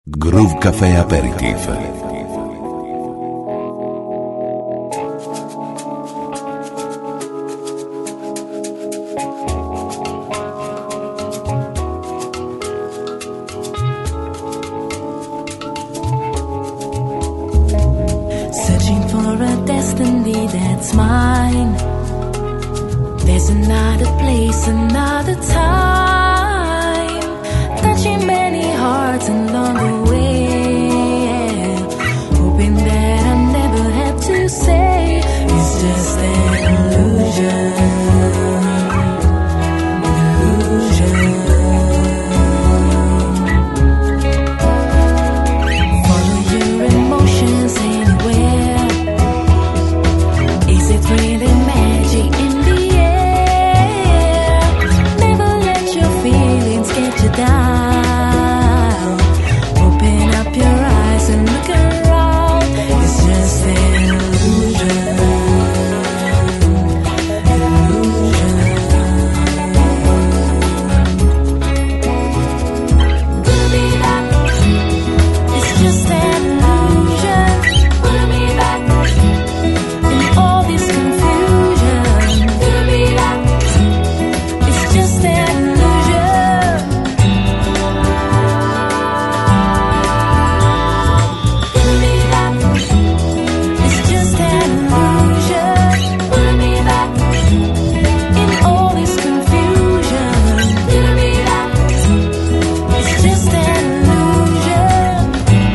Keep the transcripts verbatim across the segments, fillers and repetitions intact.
Groove Café Aperitif. Searching for a destiny that's mine. There's another place, another time, touching many hearts along the way, hoping that I never have to say it's just an illusion, illusion. Follow your emotions anywhere. Is it really magic in the air? Never let your feelings get you down. Open up your eyes and look around. It's just an illusion, illusion. Put me back. It's just an illusion. Put me back in all this confusion. Put me back. It's just an illusion. Put me back. It's just an illusion. Put me back in all this confusion. Put me back. It's just an illusion.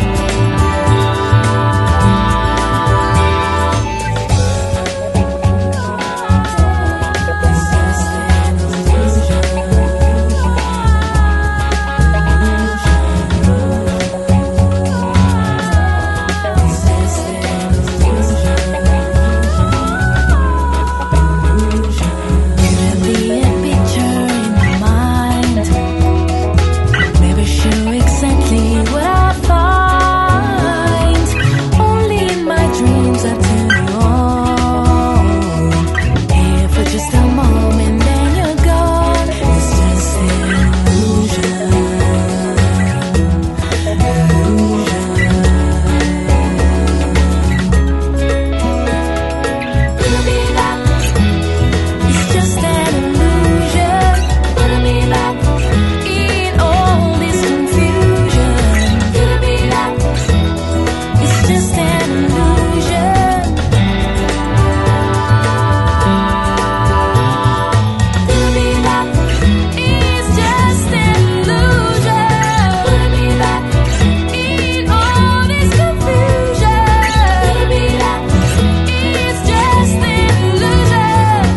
Couldn't be a picture in my mind. Never sure exactly what I find. Only in my dreams I turn you on. Here for just a moment, then you're gone. It's just an illusion, illusion. Put me back. It's just an illusion. Put me back in all this confusion. Put me back. It's just an illusion. Put me back. It's just an illusion. Put me back in all this confusion. Put me back. It's just an illusion.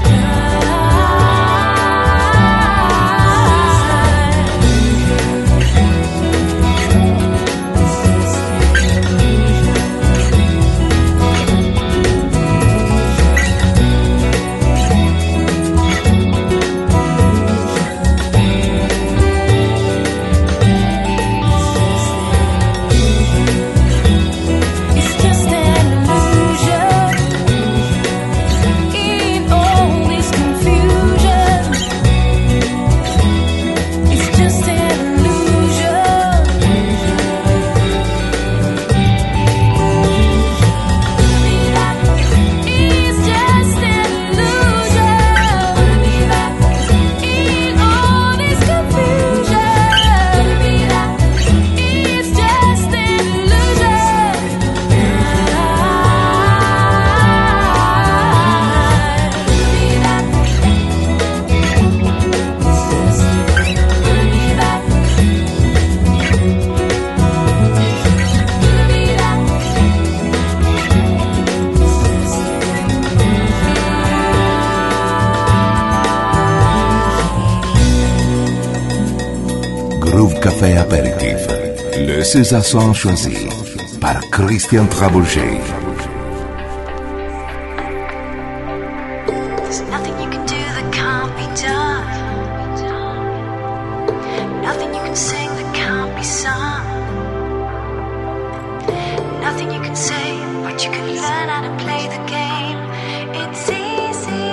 It's just an illusion in all this confusion. It's just an illusion. Put me back. It's just an illusion. Put me back in all this confusion. Put me back. It's just an illusion. Put me back. Groove Café Aperitif. Le César Son choisi par Christian Trabouget. There's nothing you can do that can't be done. Nothing you can sing that can't be sung. Nothing you can say, but you can learn how to play the game. It's easy.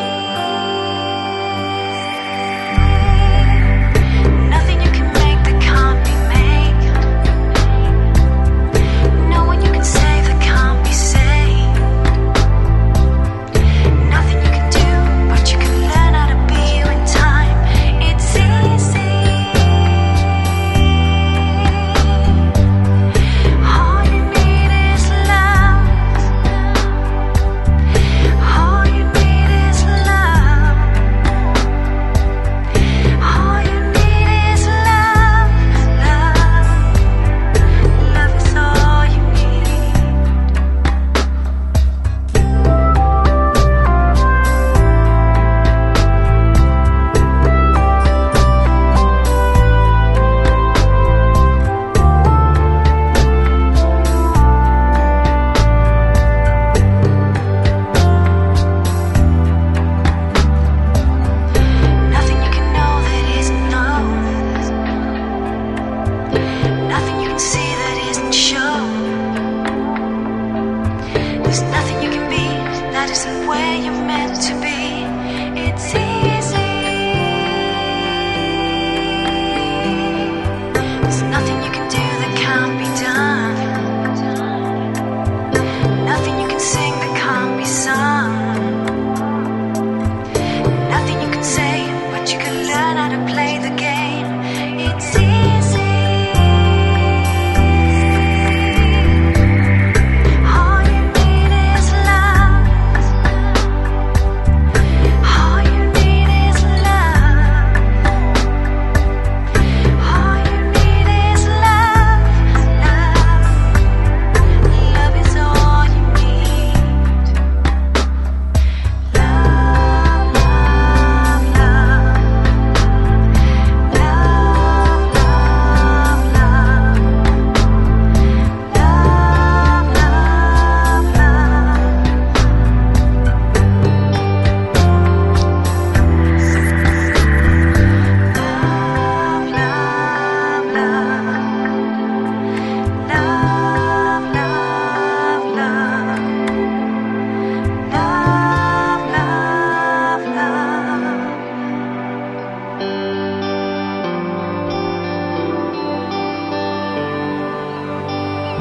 Nothing you can make that can't be made.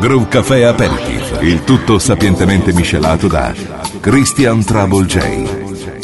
Groove Café Aperitif, il tutto sapientemente miscelato da Christian Trouble J.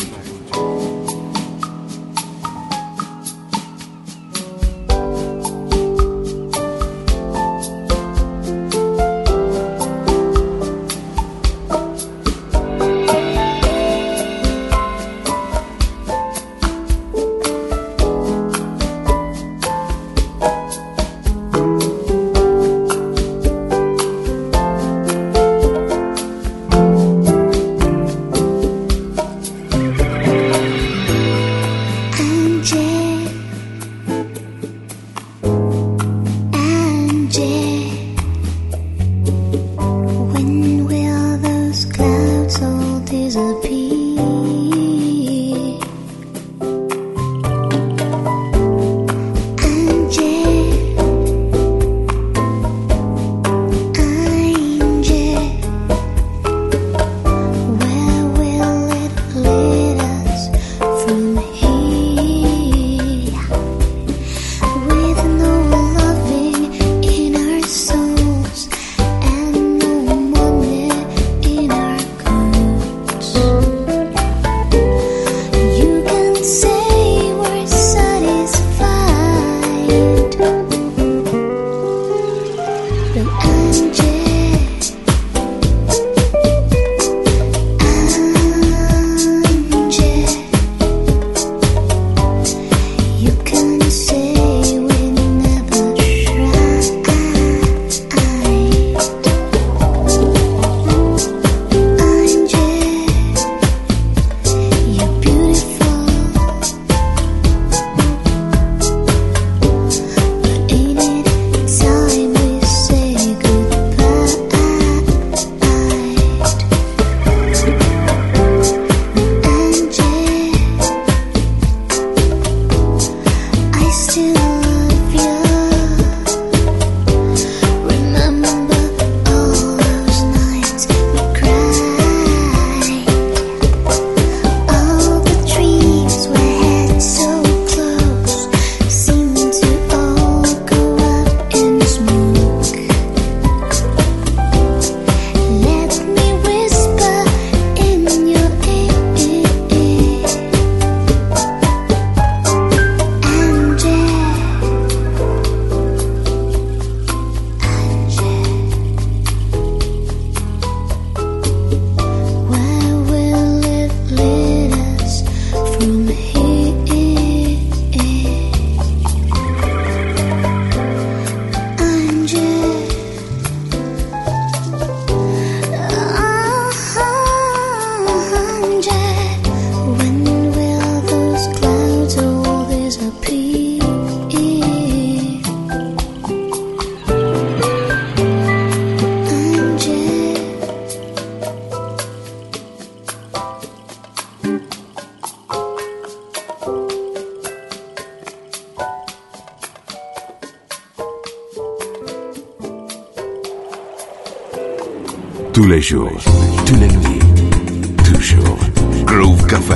Tous les jours, tous les nuits, toujours. Groove Café.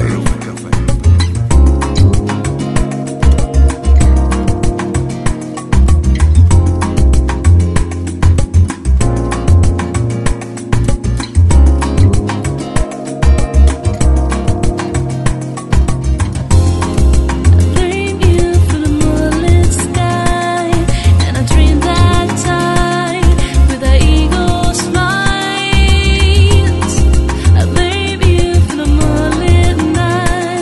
Night.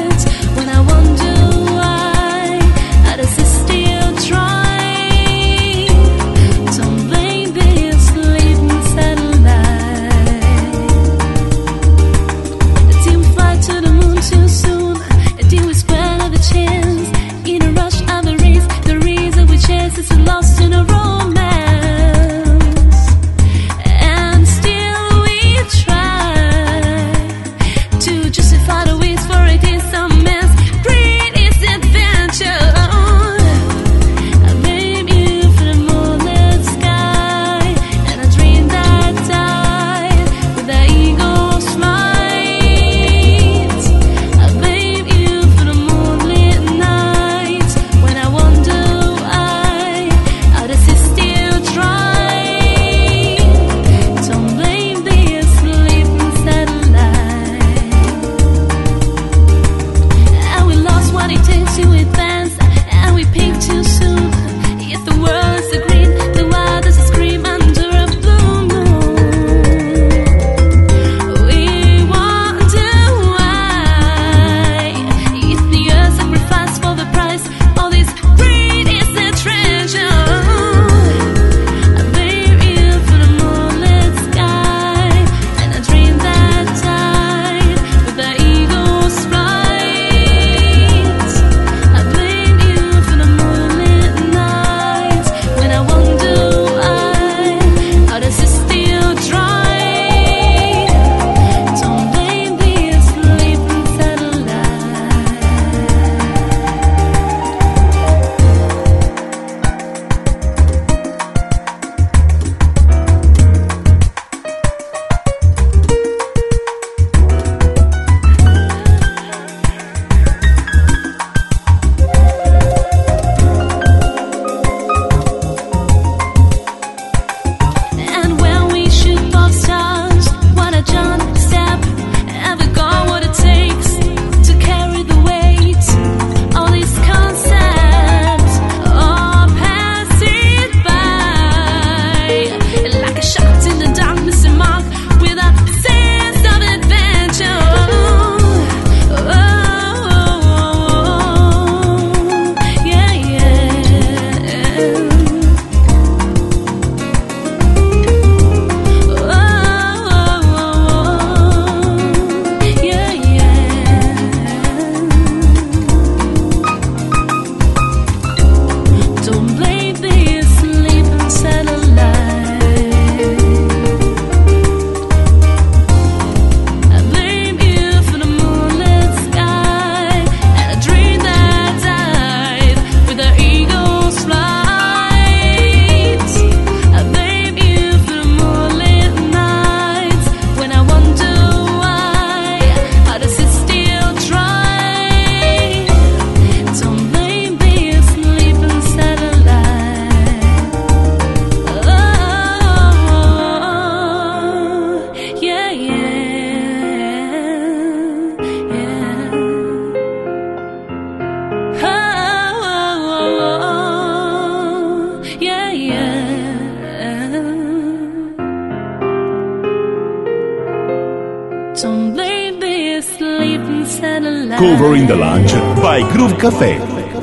Covering the Lunch by Groove Café.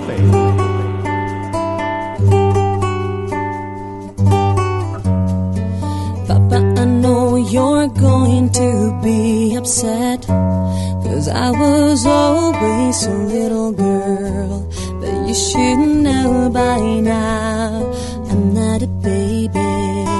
Papa, I know you're going to be upset, 'cause I was always a little girl. But you should know by now I'm not a baby.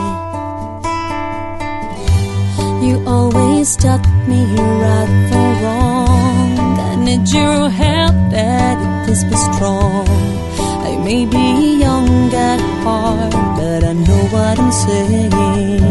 You always taught me right from wrong. I need your help, Daddy, please be strong. I may be young at heart, but I know what I'm saying.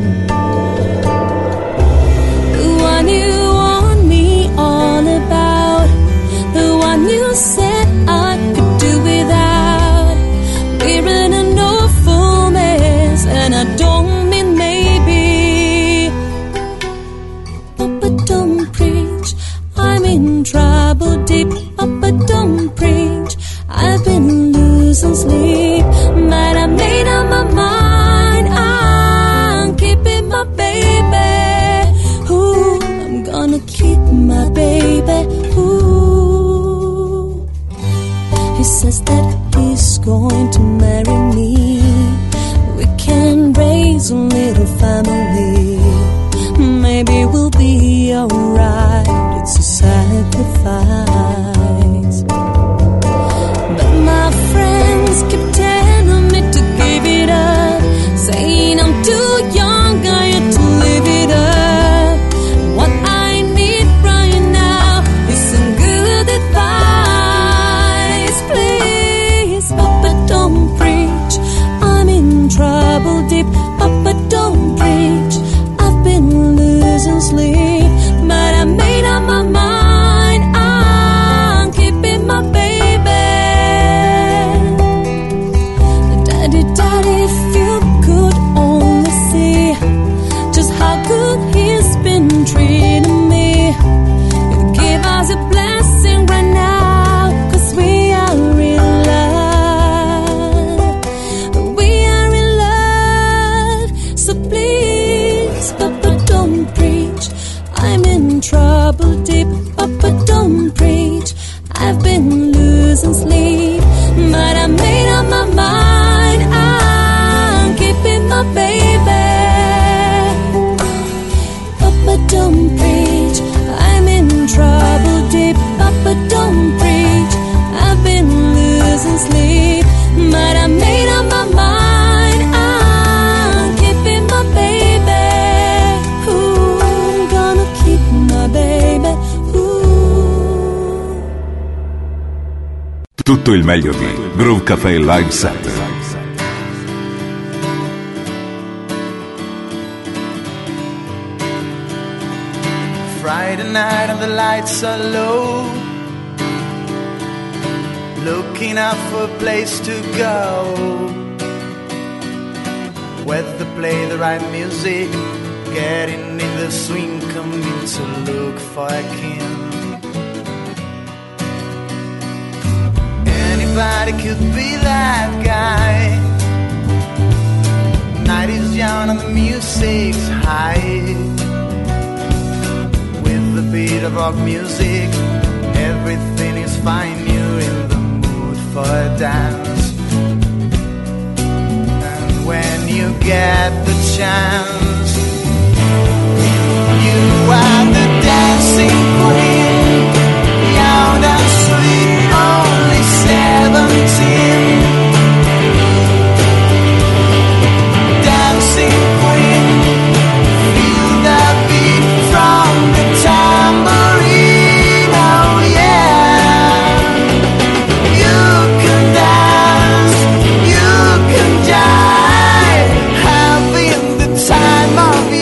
The one you want me all about, the one you said I could do without. We're in an awful mess, and I don't mean maybe. Papa, don't preach, I'm in trouble deep. Papa, don't preach, I've been losing sleep, but I made up my mind, I'm keeping my baby. Ooh, I'm gonna keep my baby. Ooh, he says that he's going to marry me. We can raise a little family. Maybe we'll be alright. It's a sacrifice. But my friends keep telling me to give it up, saying I'm too young, I have to live it up. What I need right now is some good advice. Please, Papa, don't preach, I'm in trouble deep. Papa, don't preach, I've been losing sleep, but I made up my mind, I'm keeping my baby. Daddy, Daddy, if you could only see just how good he's been treating me, you'd give us a blessing right now, 'cause we are in love. We are in love. So please, Papa, don't preach, I'm in trouble deep. Papa, don't preach, I've been losing sleep, but I made up my mind, I'm keeping my baby. Papa, don't preach, I'm in trouble deep. Papa, don't preach, I've been losing sleep, but I made up my mind, I'm keeping my baby. Ooh, I'm gonna keep my baby. Ooh. Tutto il meglio di Groove Café Live Set. Friday night and the lights are low, looking out for a place to go, where to play the right music, getting in the swing, coming to look for a king. Anybody could be that guy. Night is young and the music's high. With the beat of rock music, everything is fine. You're in the mood for a dance. And when you get the chance, you are the dancing queen, young and sweet, only seventeen. Dancing queen, feel the beat from the tambourine, oh yeah. You can dance, you can jive, having the time of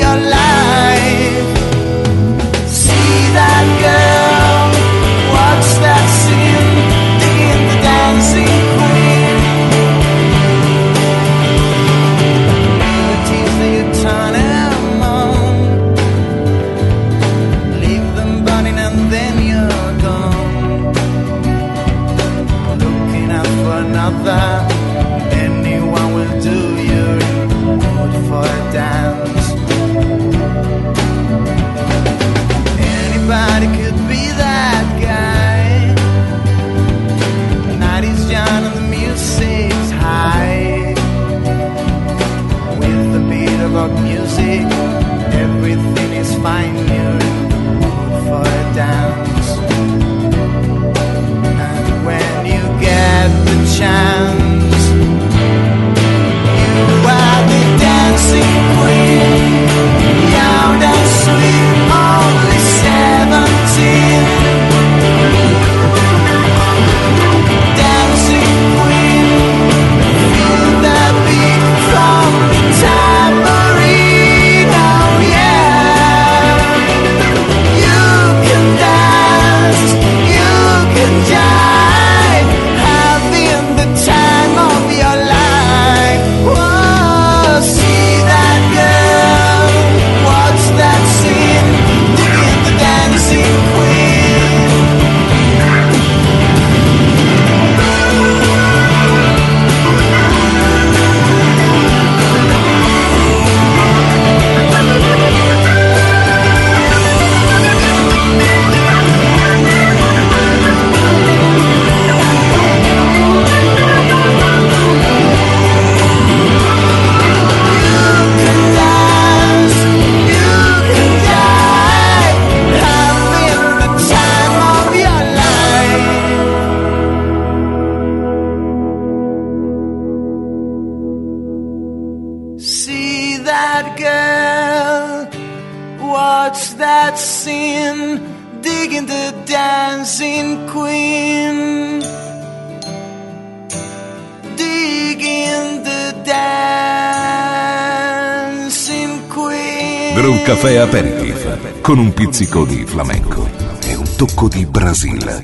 rock music. Everything is fine, you're in the mood for a dance. And when you get the chance, you are the dancing queen, young and sweet, only seventeen. Groove Café Aperitif con un pizzico di flamenco e un tocco di Brasile.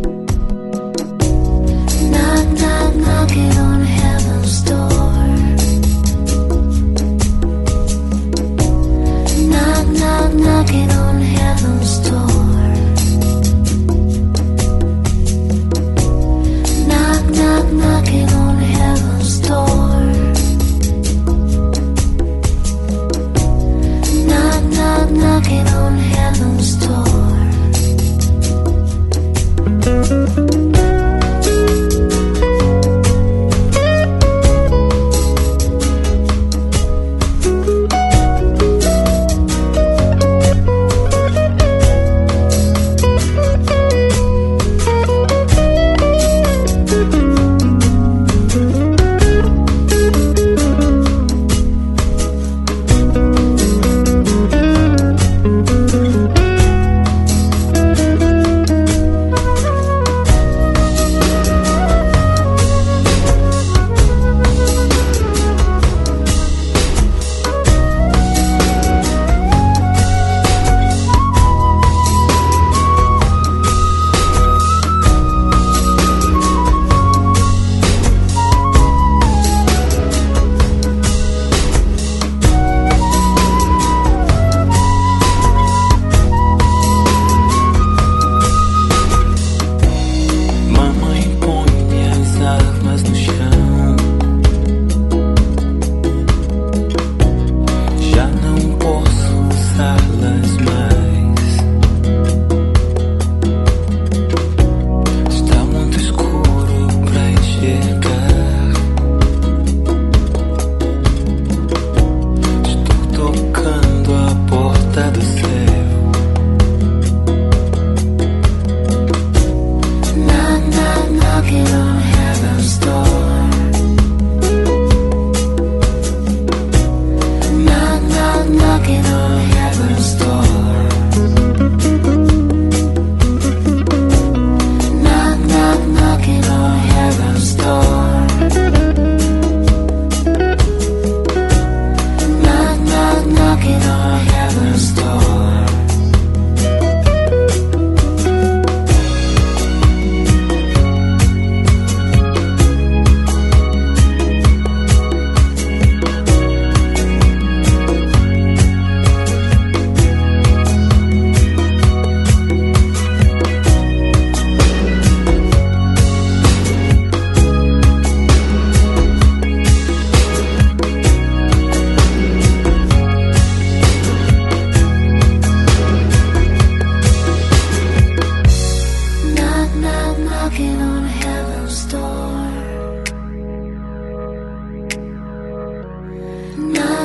Knock, knock, knocking on heaven's door.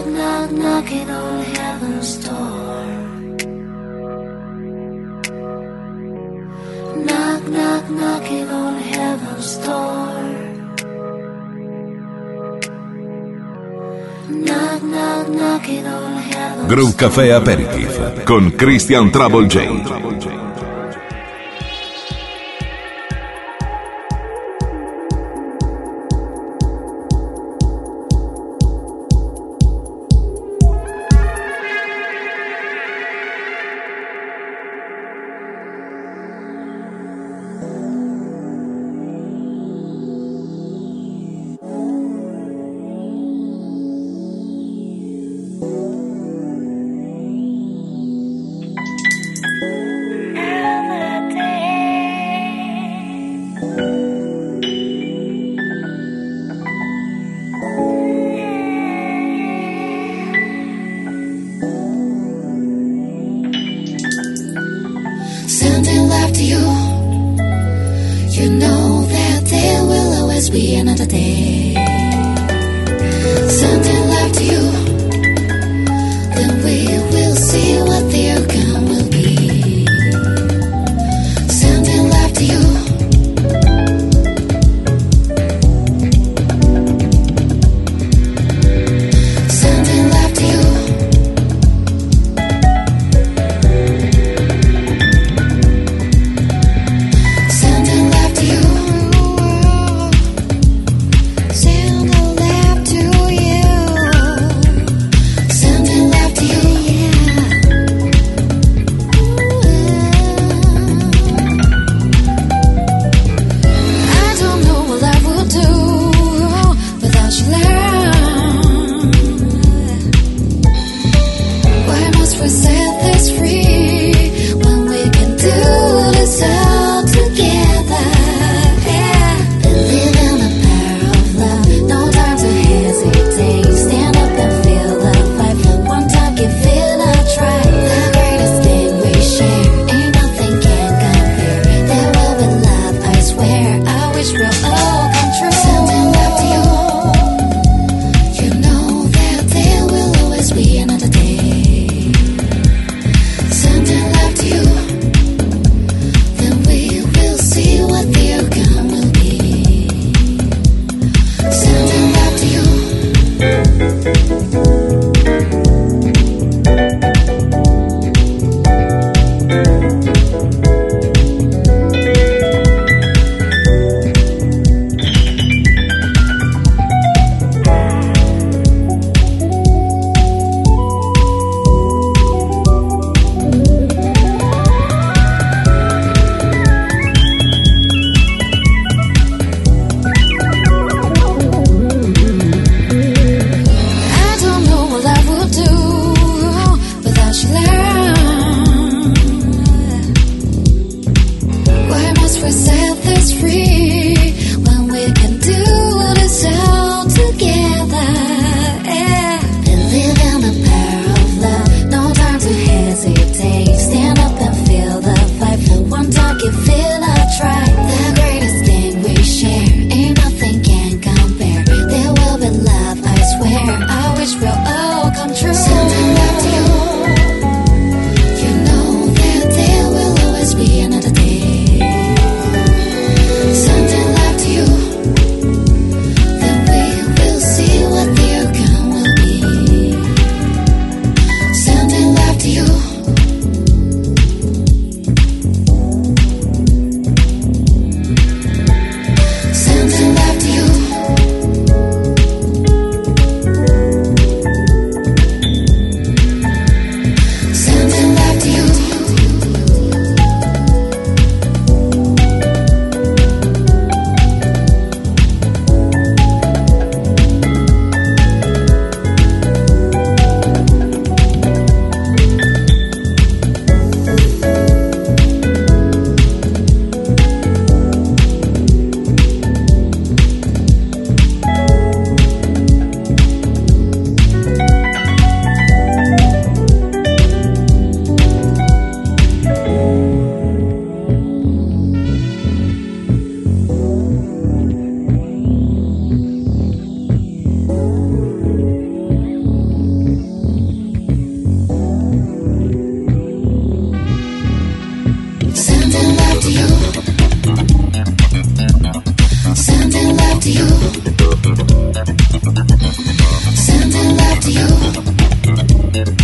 Knock, knock, knocking on heaven's door. Knock, knock, knocking on heaven's door. Knock, knock, knocking on heaven's door. Groove Café Aperitif con Christian Trouble J.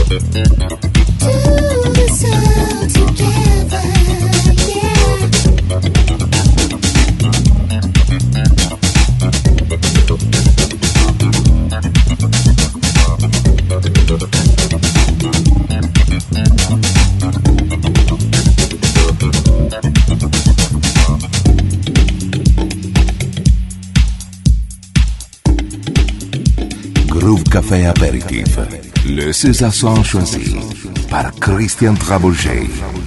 Café Apéritif, le César Son choisi par Christian Trabouget.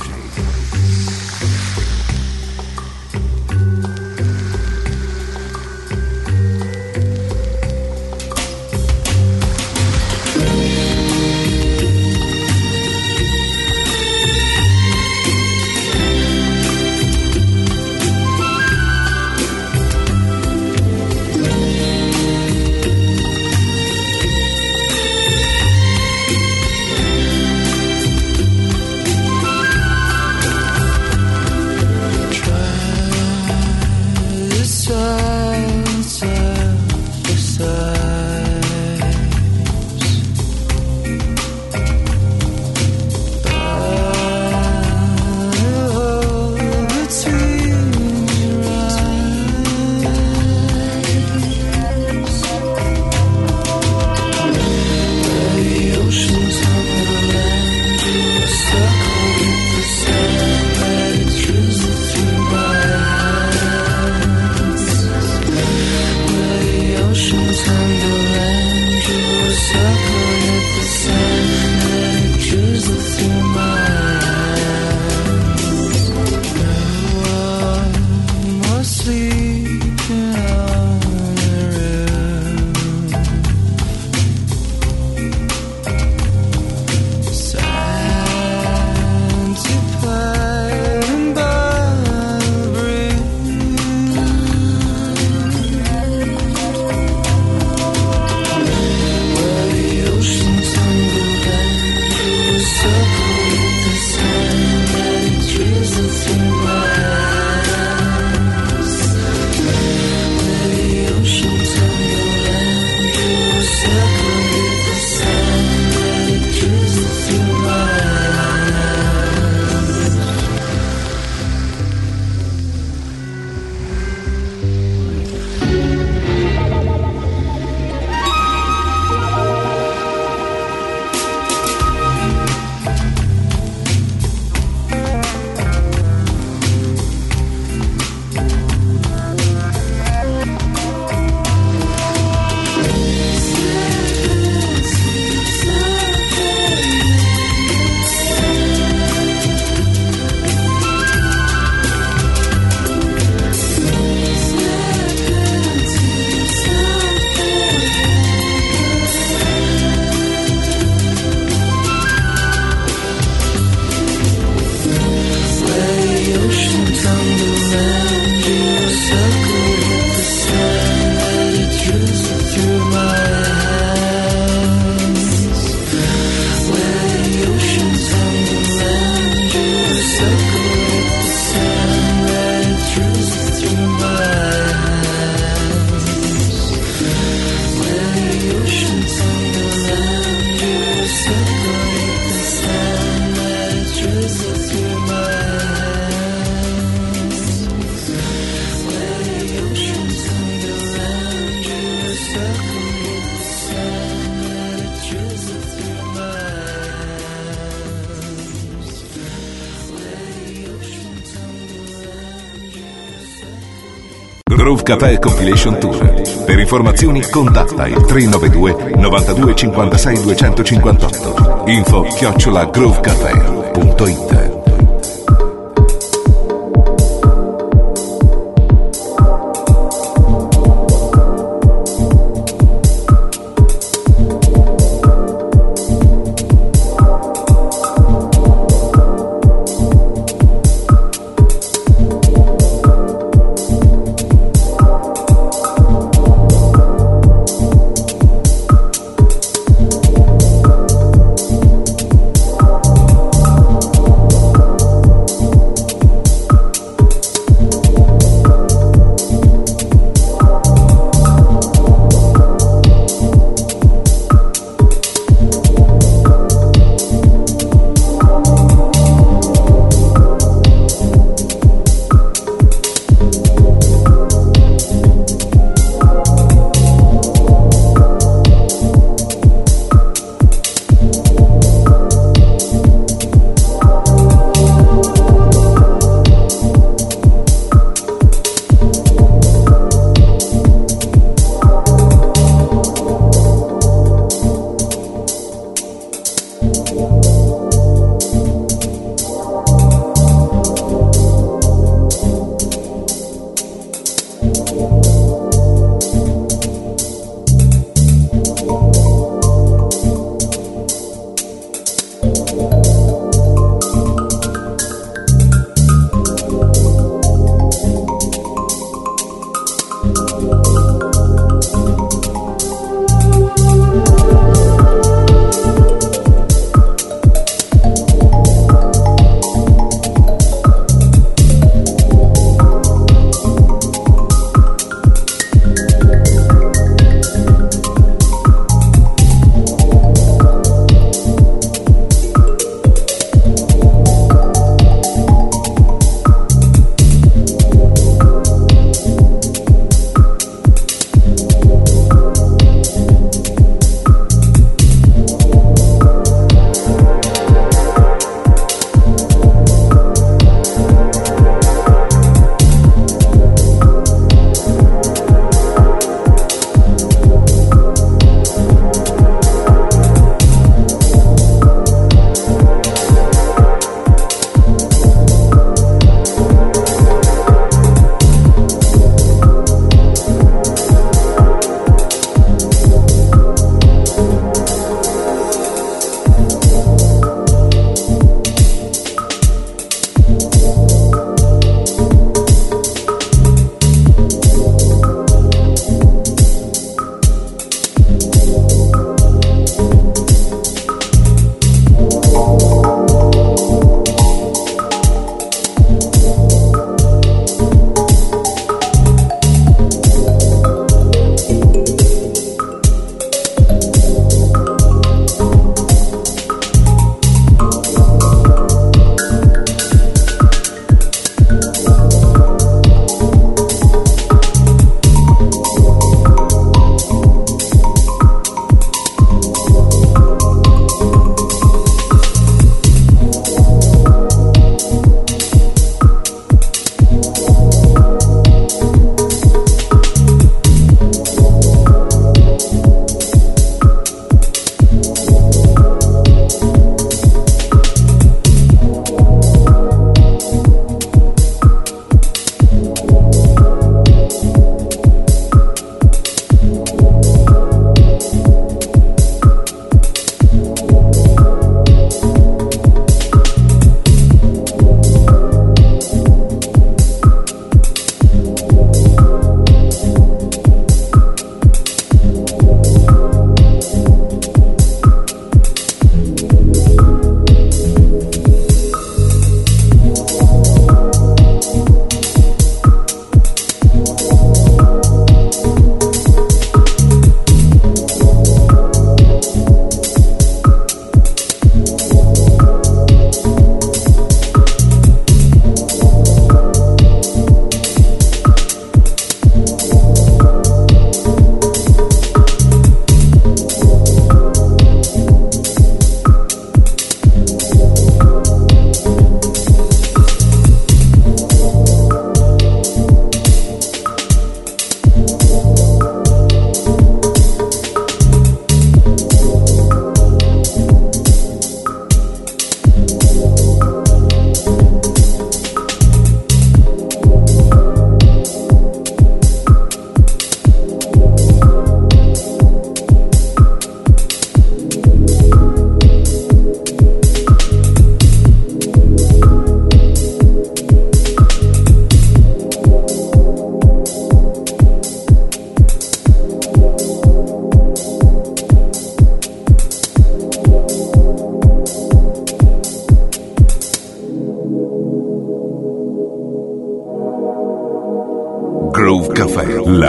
Groove Café Compilation Tour. Per informazioni contatta il tre nove due novantadue cinquantasei duecentocinquantotto. Info chiocciola groovecafé punto it.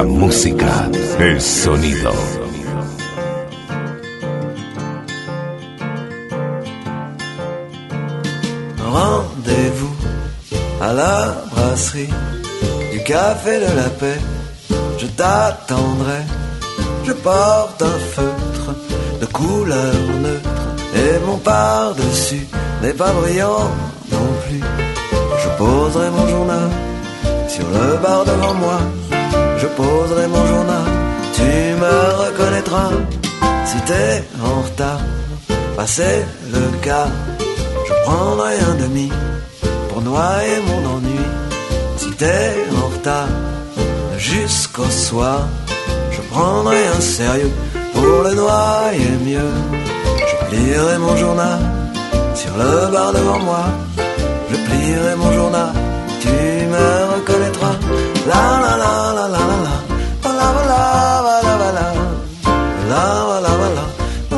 música, el sonido. Rendez-vous à la brasserie du Café de la Paix. Je t'attendrai, je porte un feutre de couleur neutre et mon par-dessus n'est pas brillant non plus. Je poserai mon journal sur le bar devant moi. Je poserai mon journal, tu me reconnaîtras. Si t'es en retard, passez le quart. Je prendrai un demi pour noyer mon ennui. Si t'es en retard jusqu'au soir, je prendrai un sérieux pour le noyer mieux. Je plierai mon journal sur le bar devant moi. Je plierai mon journal, tu me reconnaîtras. La la la la la la la la la la la la la la la la la la.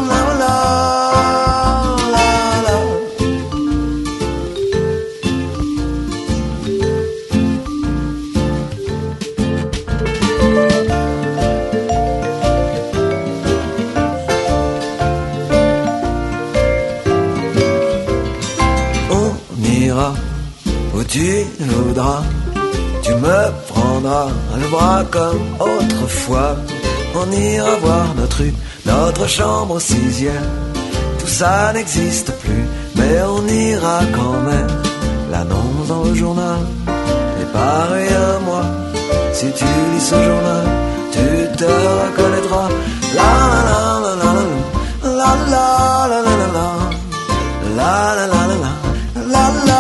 Où tu voudras, tu me prendras le bras comme autrefois. On ira voir notre rue, notre chambre au sixième. Tout ça n'existe plus, mais on ira quand même. L'annonce dans le journal est pareil à moi. Si tu lis ce journal, tu te reconnaîtras. La la la la la la la la la la la la la la la la. La la,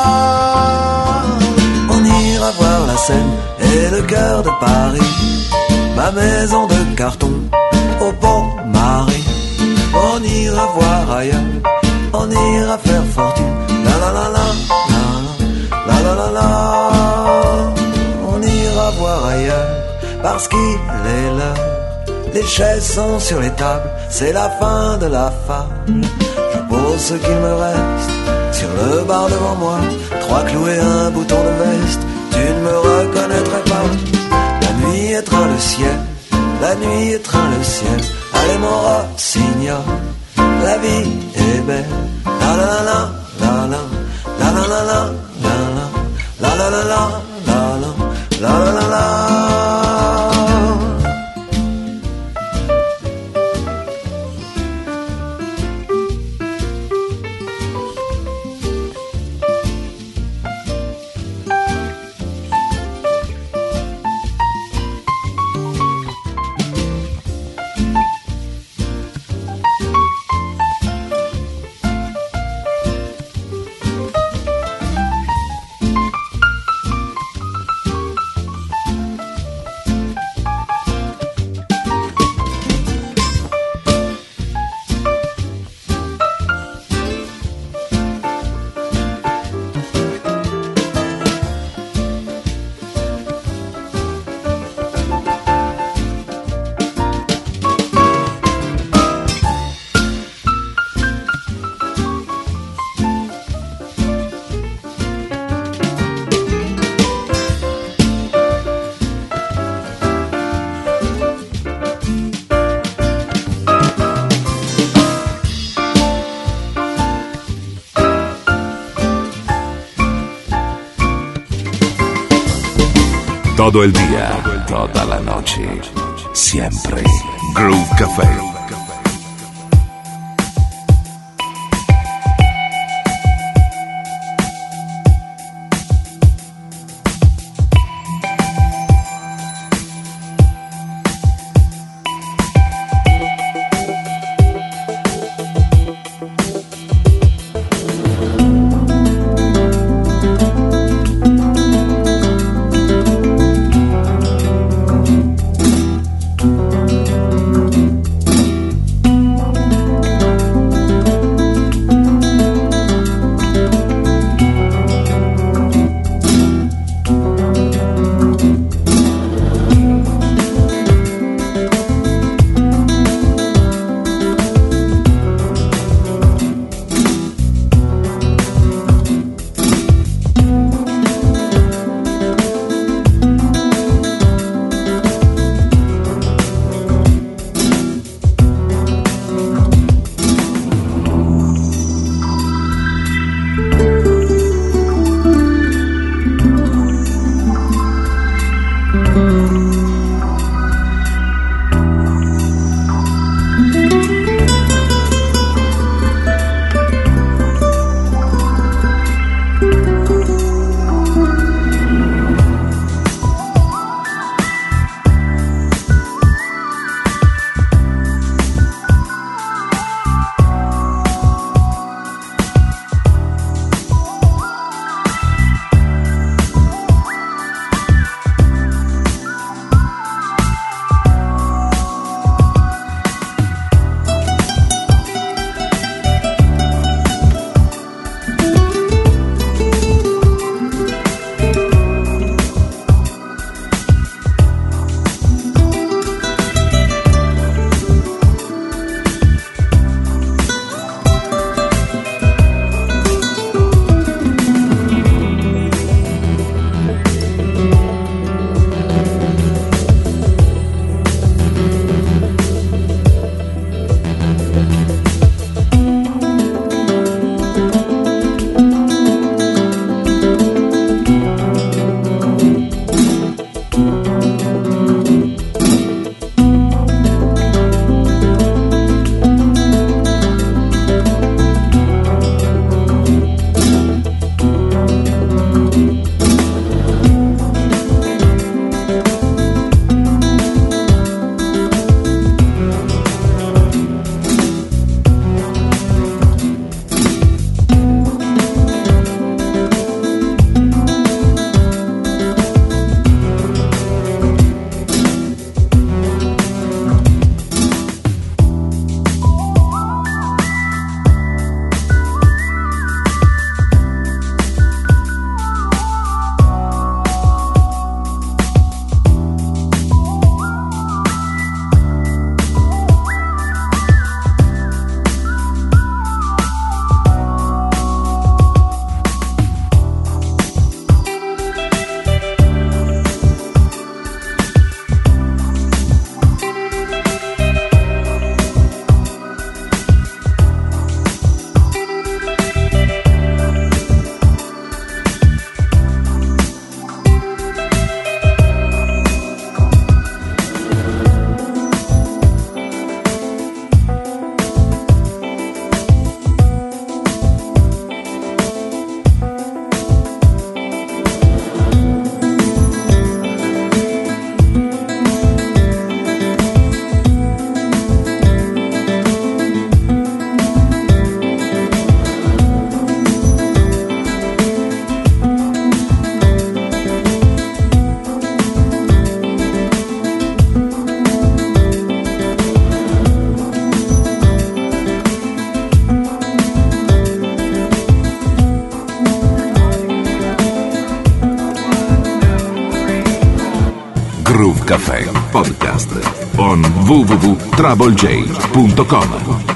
on ira voir la Seine et le cœur de Paris, ma maison de carton au pont Marie. On ira voir ailleurs, on ira faire fortune. La la la la la la la la la. On ira voir ailleurs parce qu'il est l'heure. Les chaises sont sur les tables, c'est la fin de la fable. Je pose ce qu'il me reste sur le bar devant moi, trois clous et un bouton de veste, tu ne me reconnaîtrais pas. La nuit étreint le ciel, la nuit étreint le ciel. Allez mon rossignol, la vie est belle. La la la la la la la la la la la la la la la la la la la. Todo el día, toda la noche, siempre. Groove Café. Caffè Podcast on w w w punto trouble j punto com.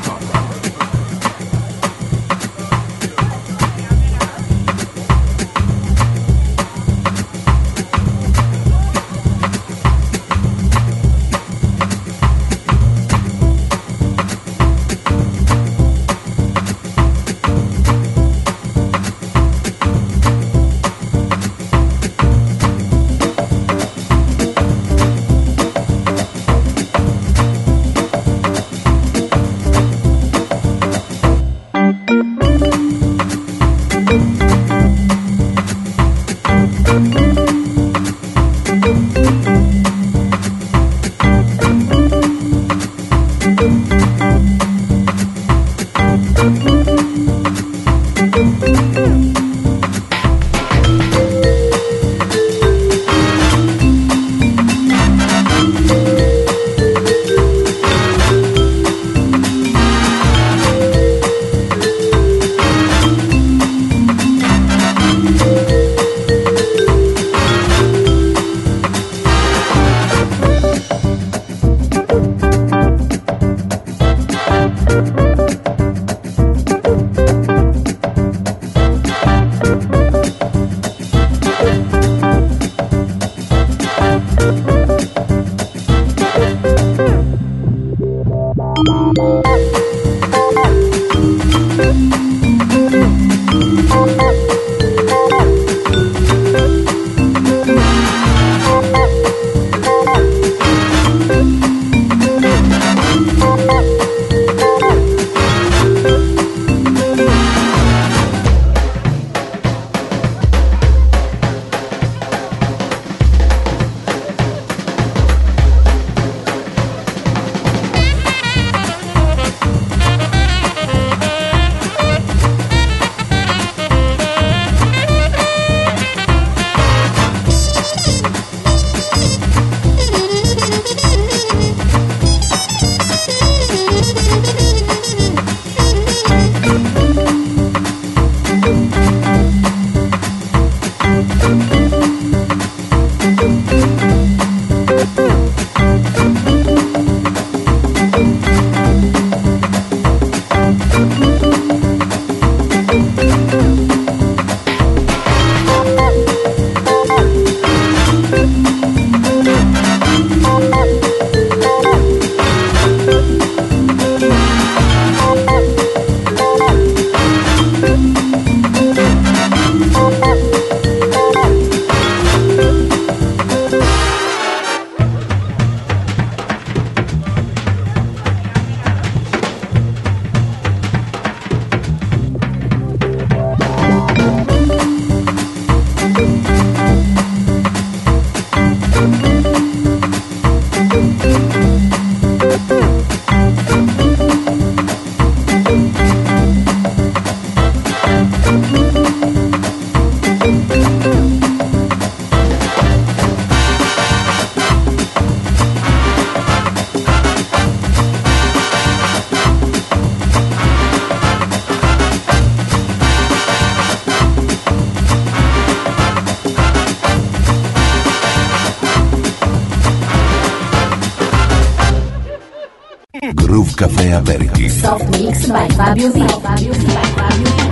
Groove Café Aperitif. Soft Mix by Fabio V. Fabio V. Fabio V.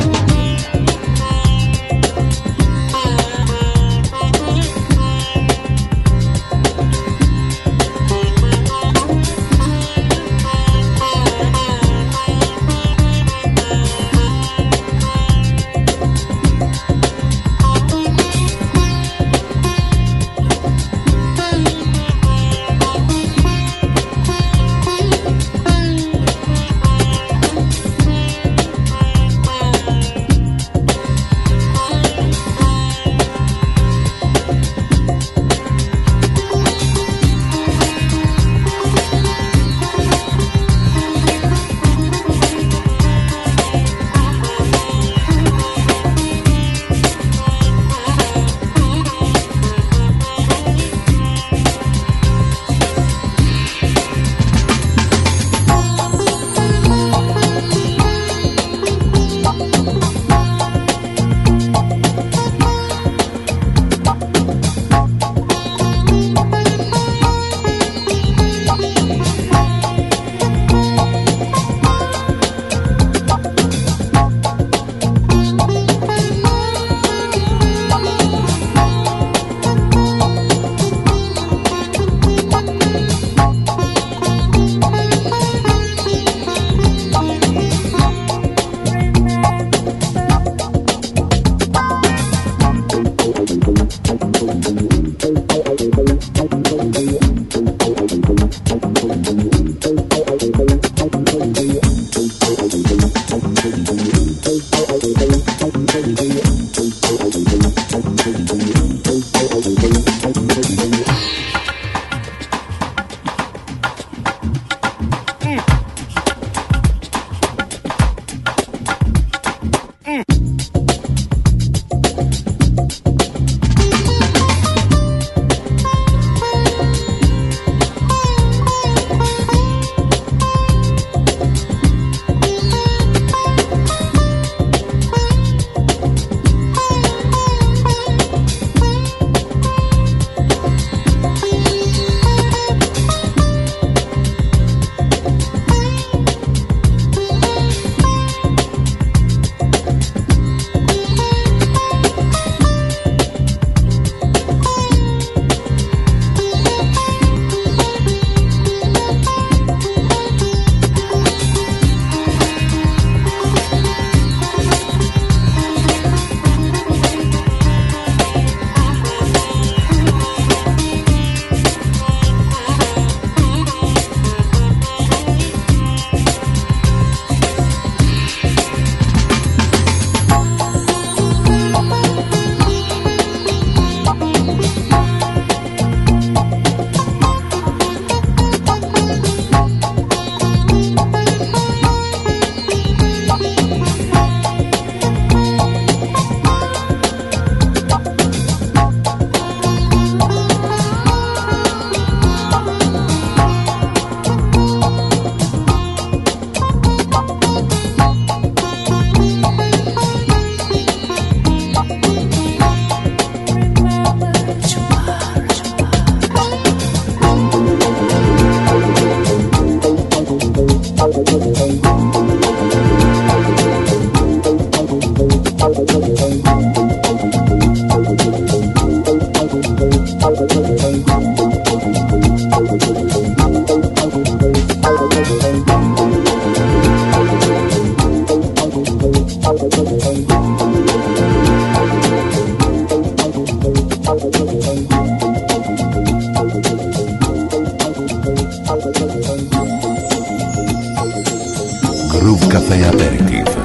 Groove Café Aperitif.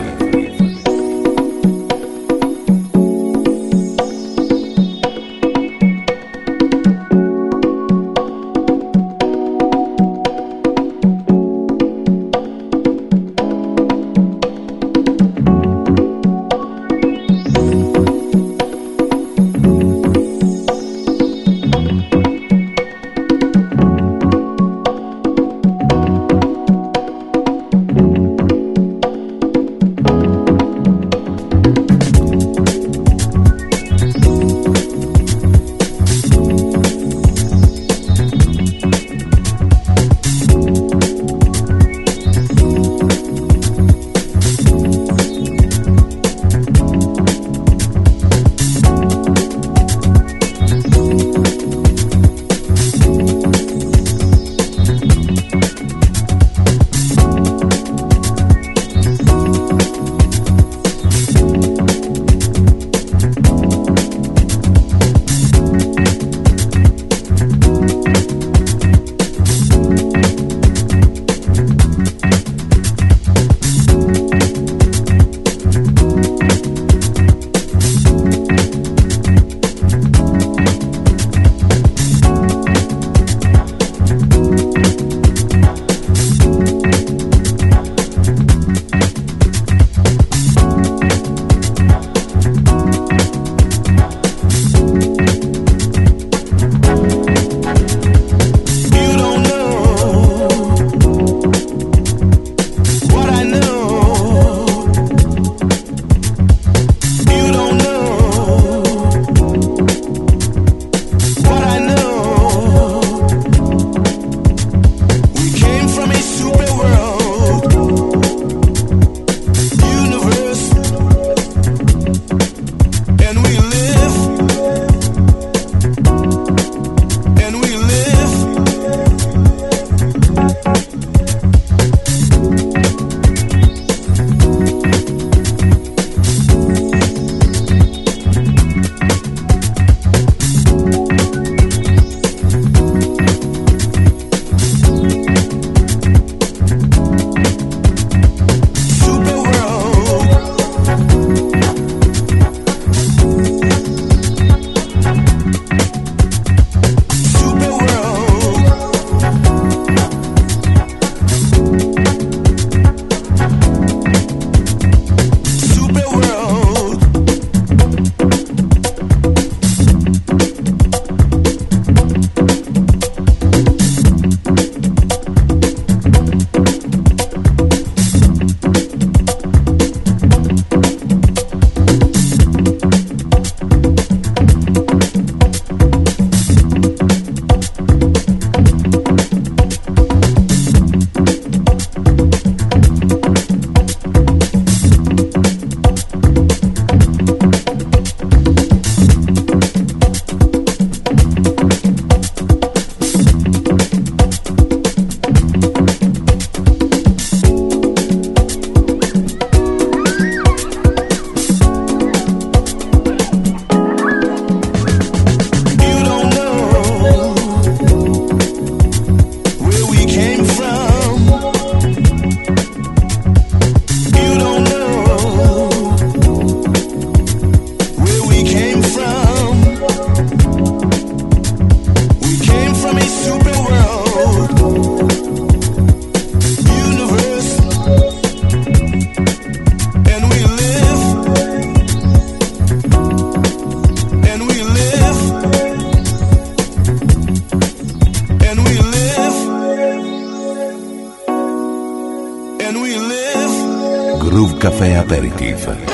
Groove Café Aperitif.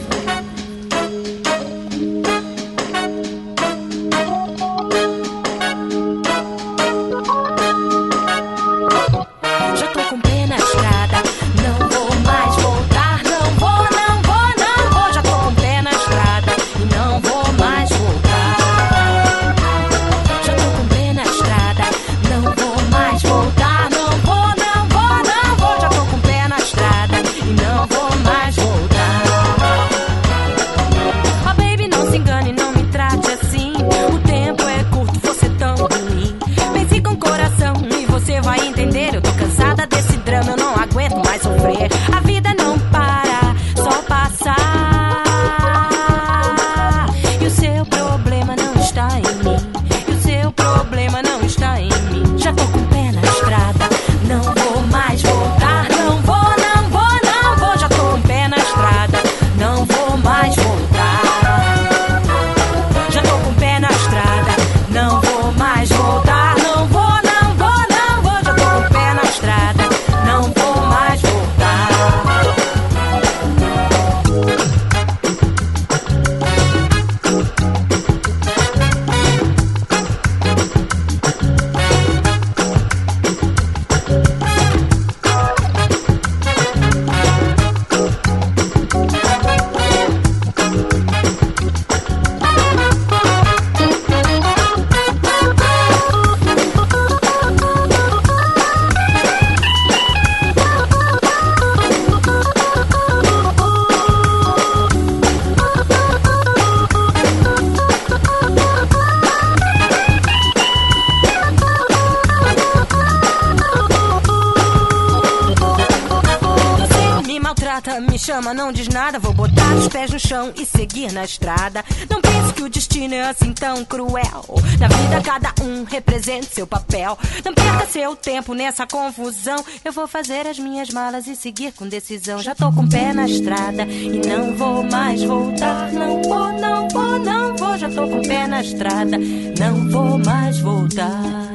Me chama, não diz nada, vou botar os pés no chão e seguir na estrada. Não pense que o destino é assim tão cruel. Na vida cada um representa seu papel. Não perca seu tempo nessa confusão. Eu vou fazer as minhas malas e seguir com decisão. Já tô com o pé na estrada e não vou mais voltar. Não vou, não vou, não vou. Já tô com o pé na estrada, não vou mais voltar.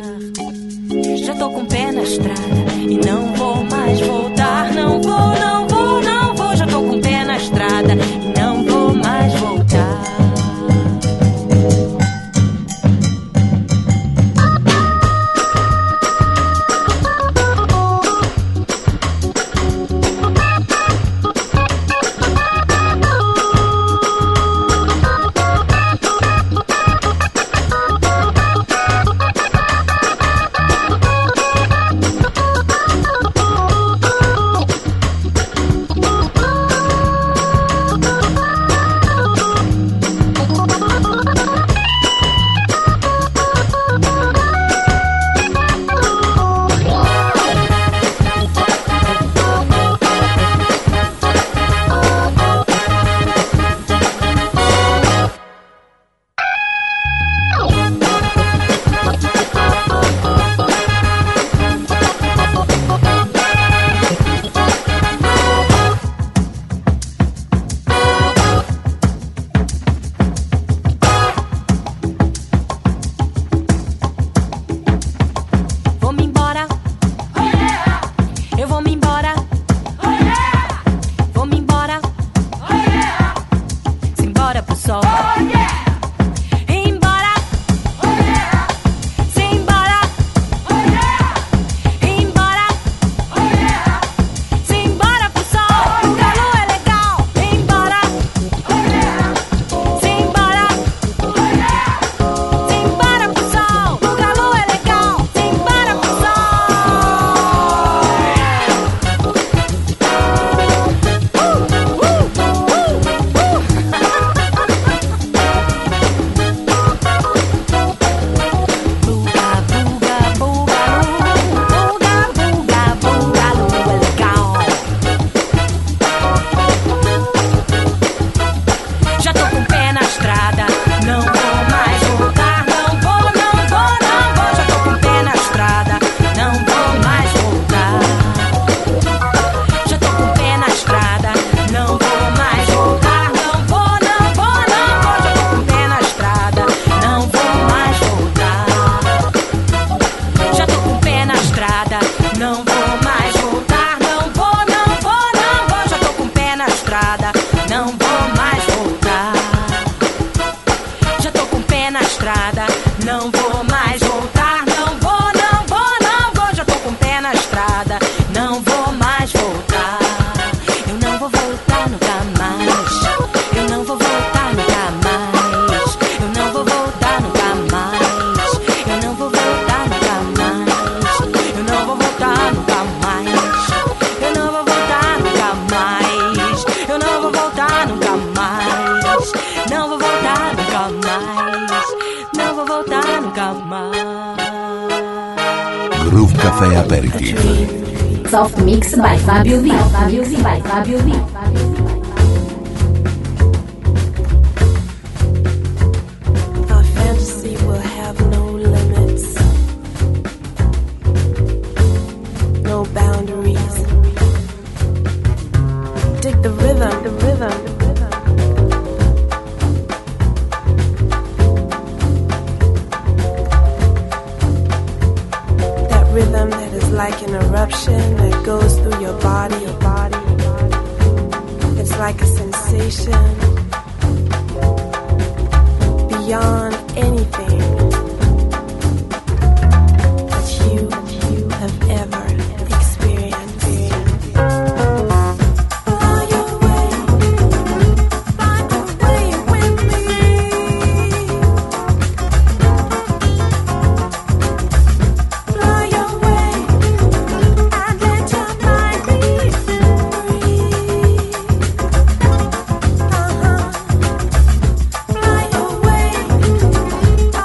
Já tô com o pé na estrada e não vou mais voltar. Não vou, não vou, não vou. Já tô com o pé na estrada e não vou mais voltar. Caffè Aperitif. Soft Mix by Fabio V. Fabio V by Fabio V. Our fantasy will have no limits, no boundaries. Dig the rhythm, the rhythm, the rhythm. That rhythm that is like an eruption that goes through your body, your body, your body. It's like a sensation beyond anything that you, that you have ever experienced. Fly away, fly away with me. Fly away and let your mind be free. Uh-huh. Fly away.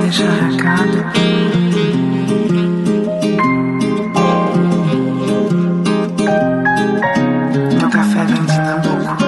deixar recado. Meu café vem de Nambuco.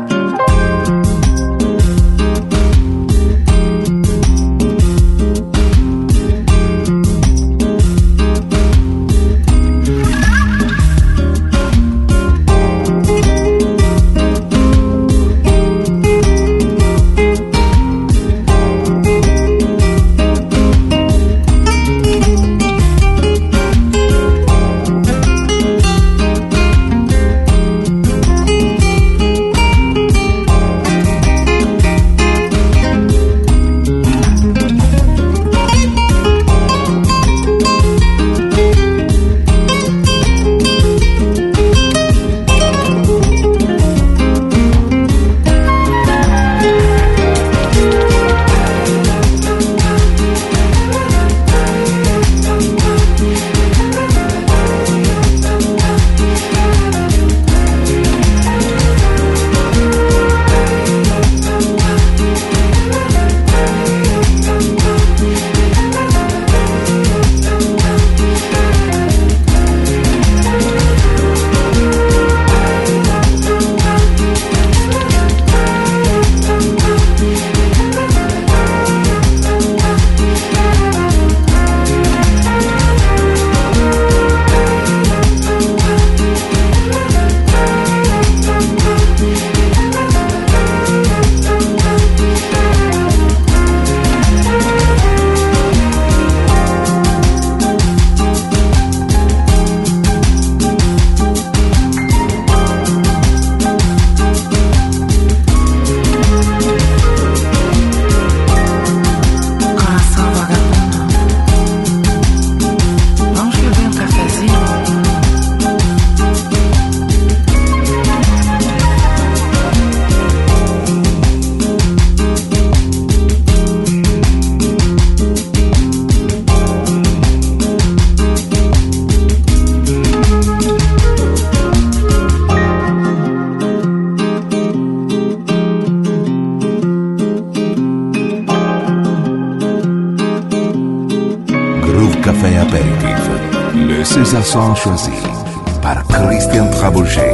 César choisi par Christian Trabouget.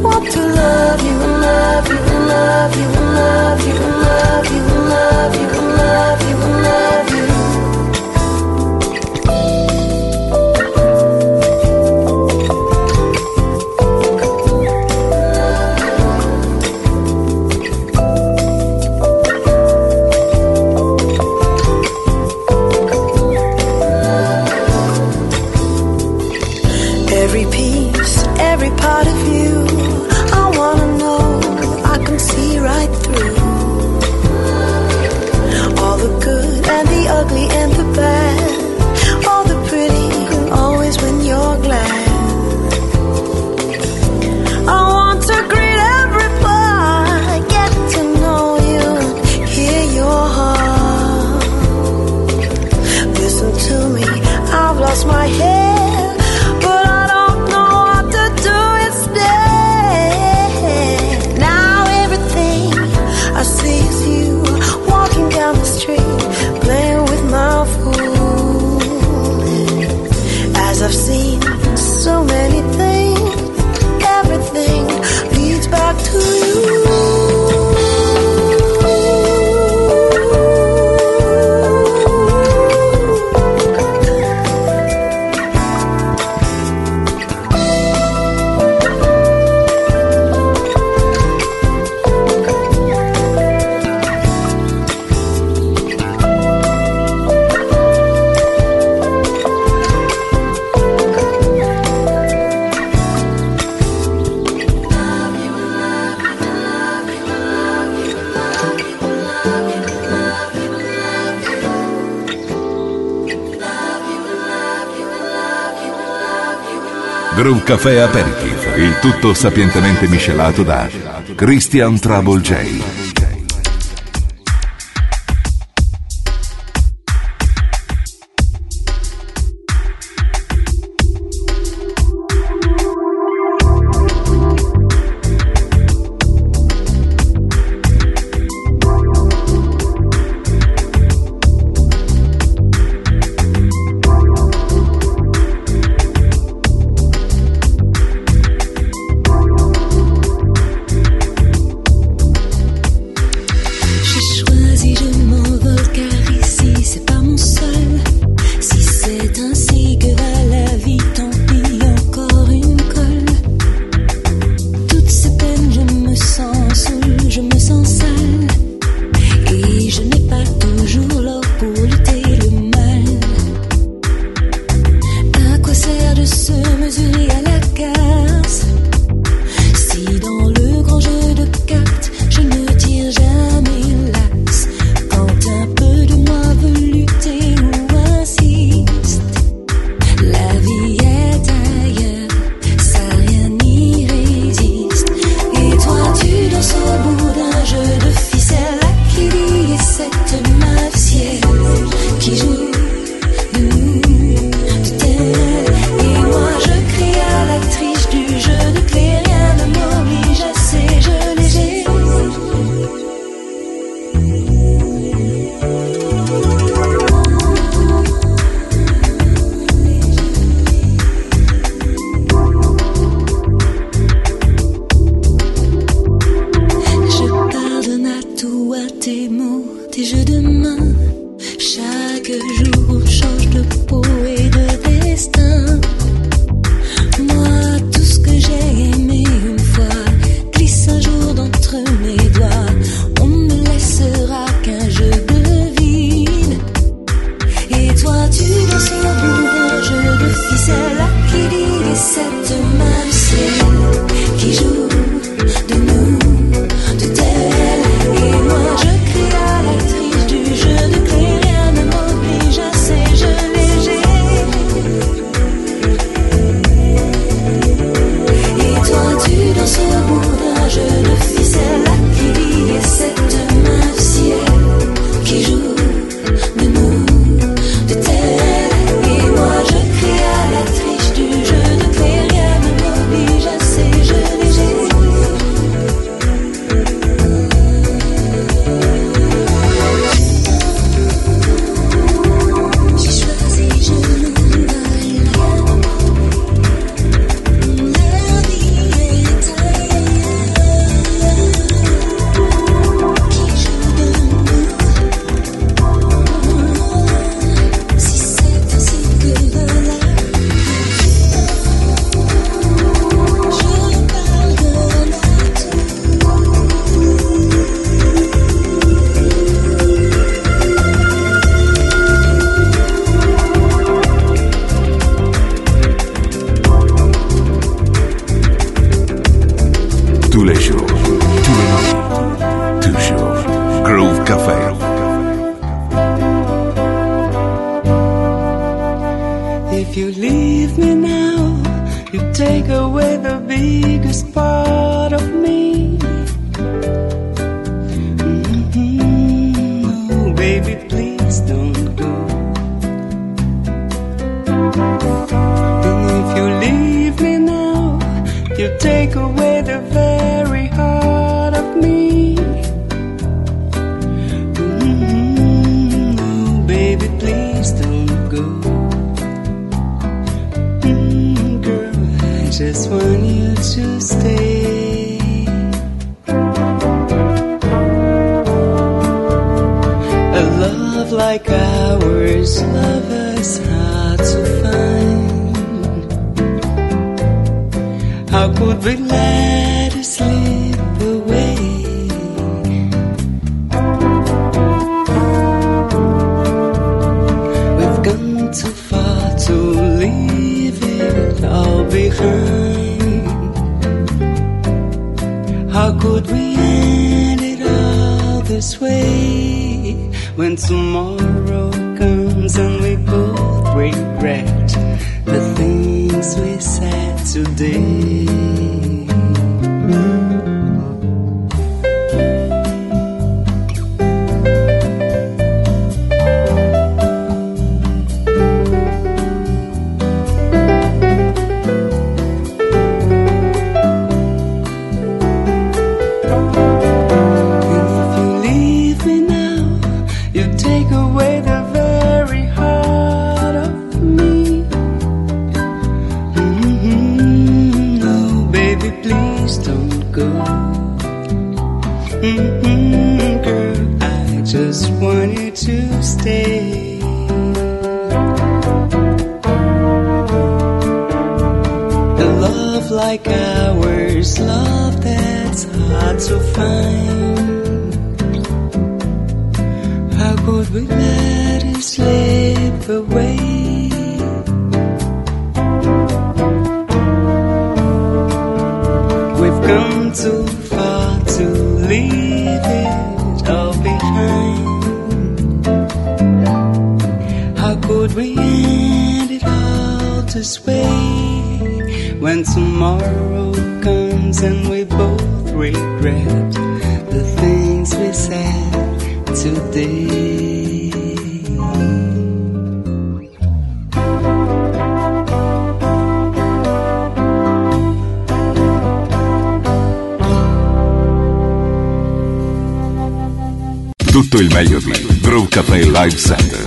love you, love you, love you, love you, love you, love you. street, playing with my food. As I've seen so many things, everything leads back to you. Groove Café Aperitif, il tutto sapientemente miscelato da Christian Trouble J. If you leave me now, you take away the biggest part of me. Mm-hmm. Oh, baby, please don't go. And if you leave me now, you take away the very heart of me. Mm-hmm. love like ours, lovers hard to find. How could we let it slip away? We've gone too far to leave it all behind. How could we end it all this way? When tomorrow comes and we both regret the things we said today. Like ours, love that's hard to find. How could we let it slip away? We've come too far to leave it all behind. How could we end it all this way? When tomorrow comes and we both regret the things we said today. Tutto il meglio di Groove Café Live Center.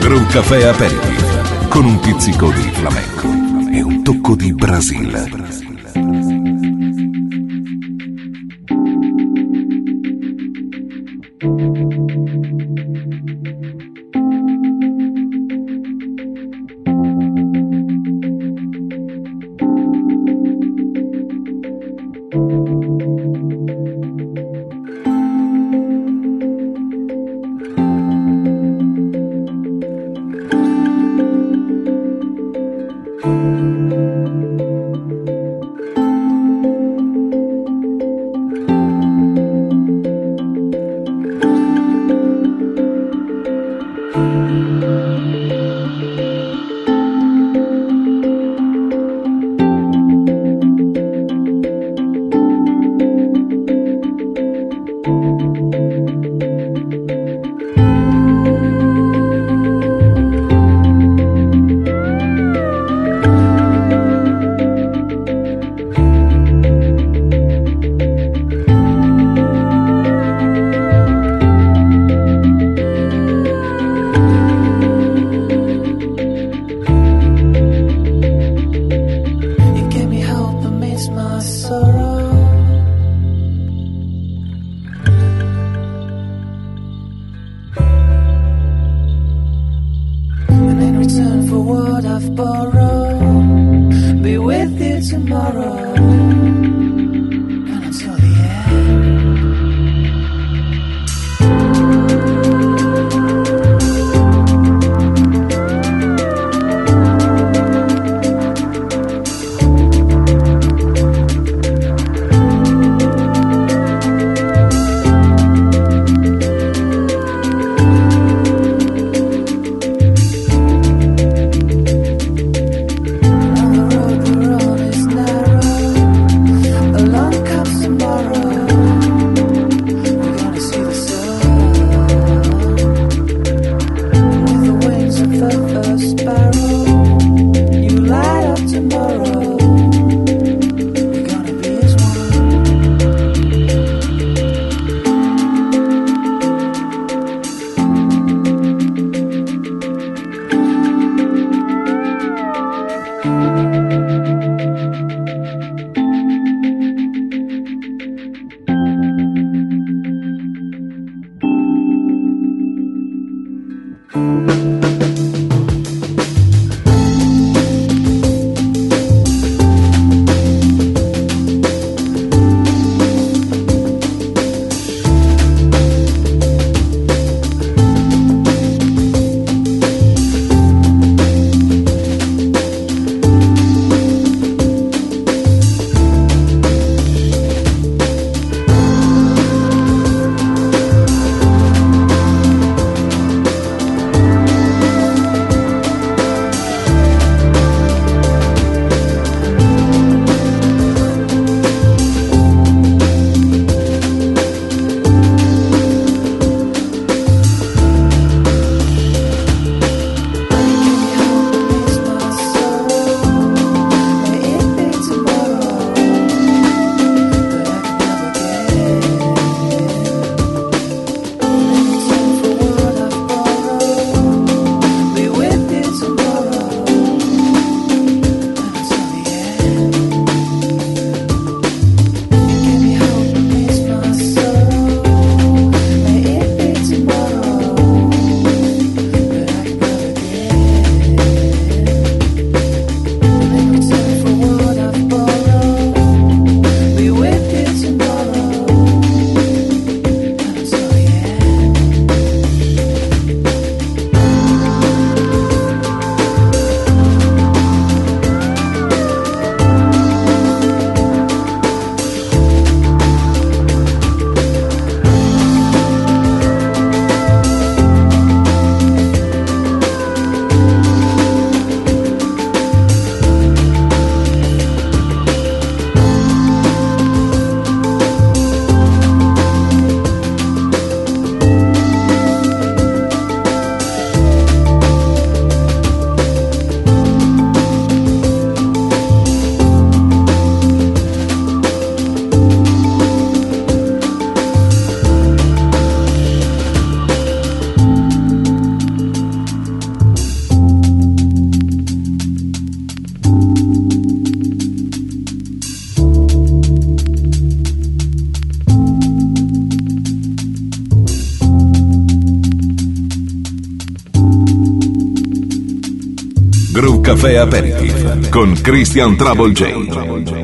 Groove Café Aperitif, con un pizzico di flamenco e un tocco di Brasile. Groove Café Aperitif con Christian Trouble J.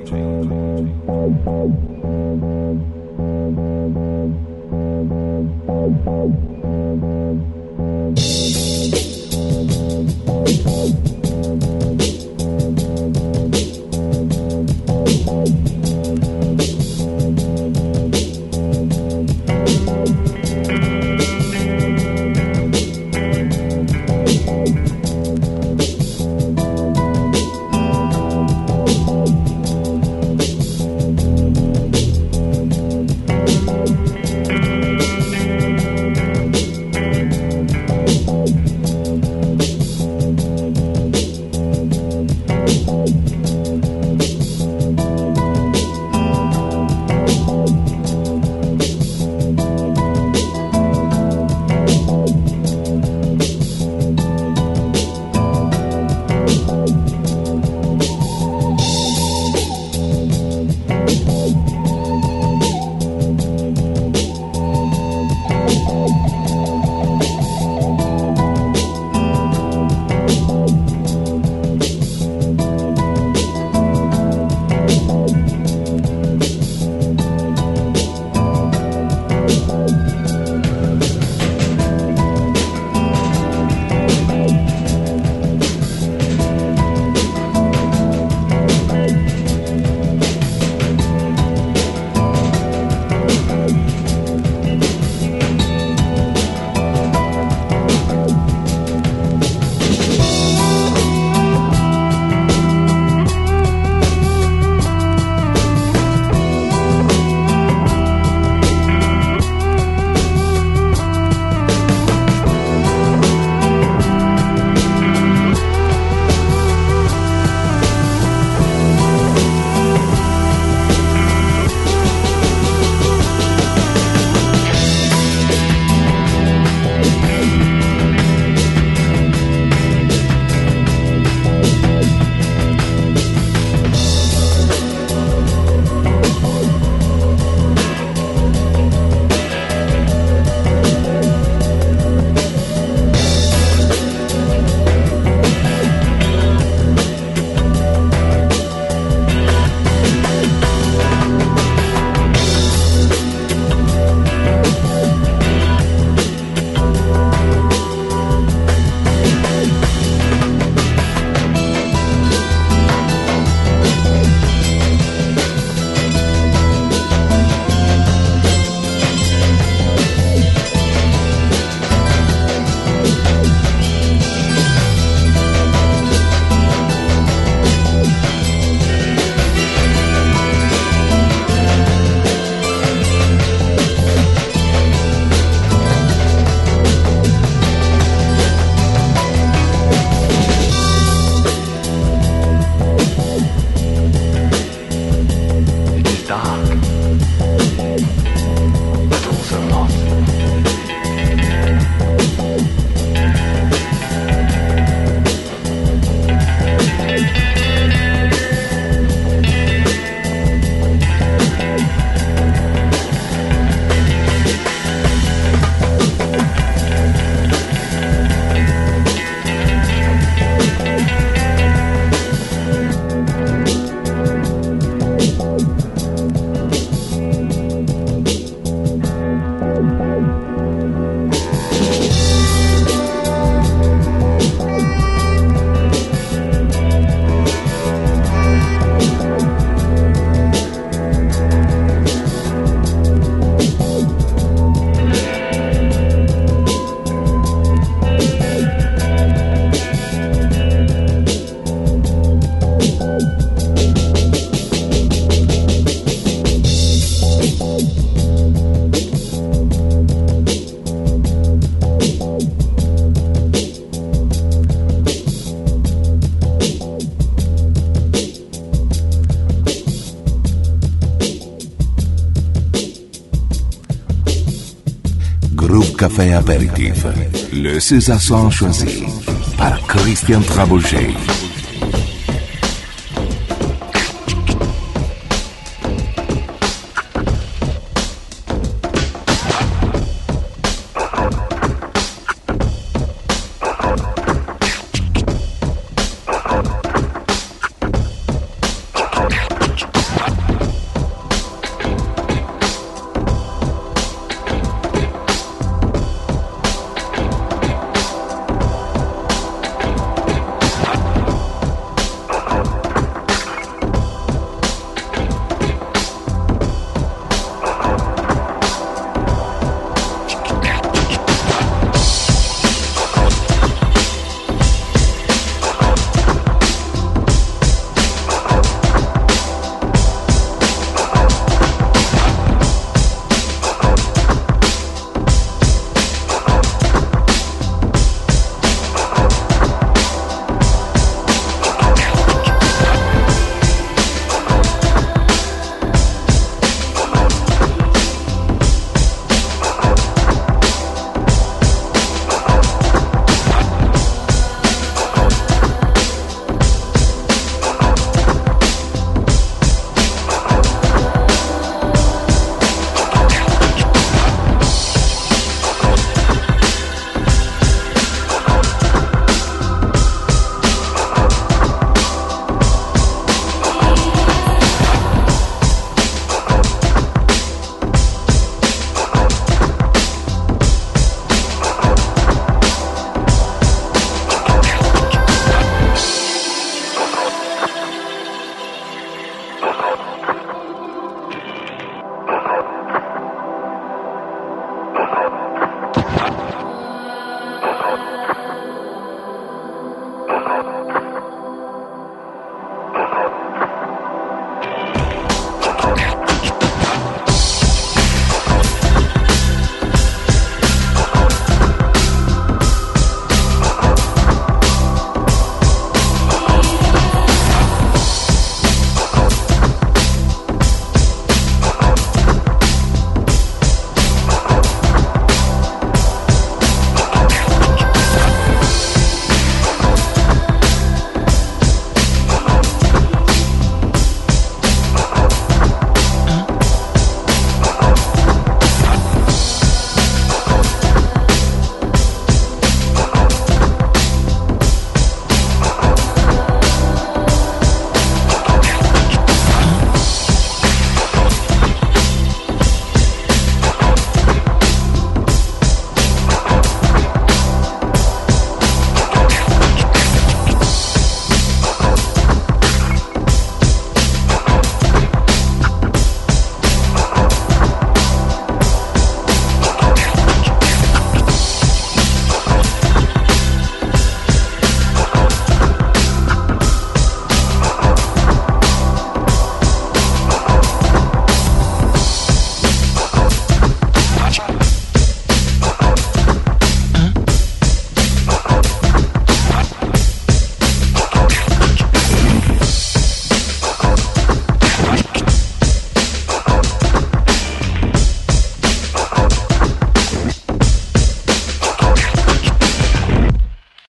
Groove Café Aperitif, le César choisi par Christian Trouble J.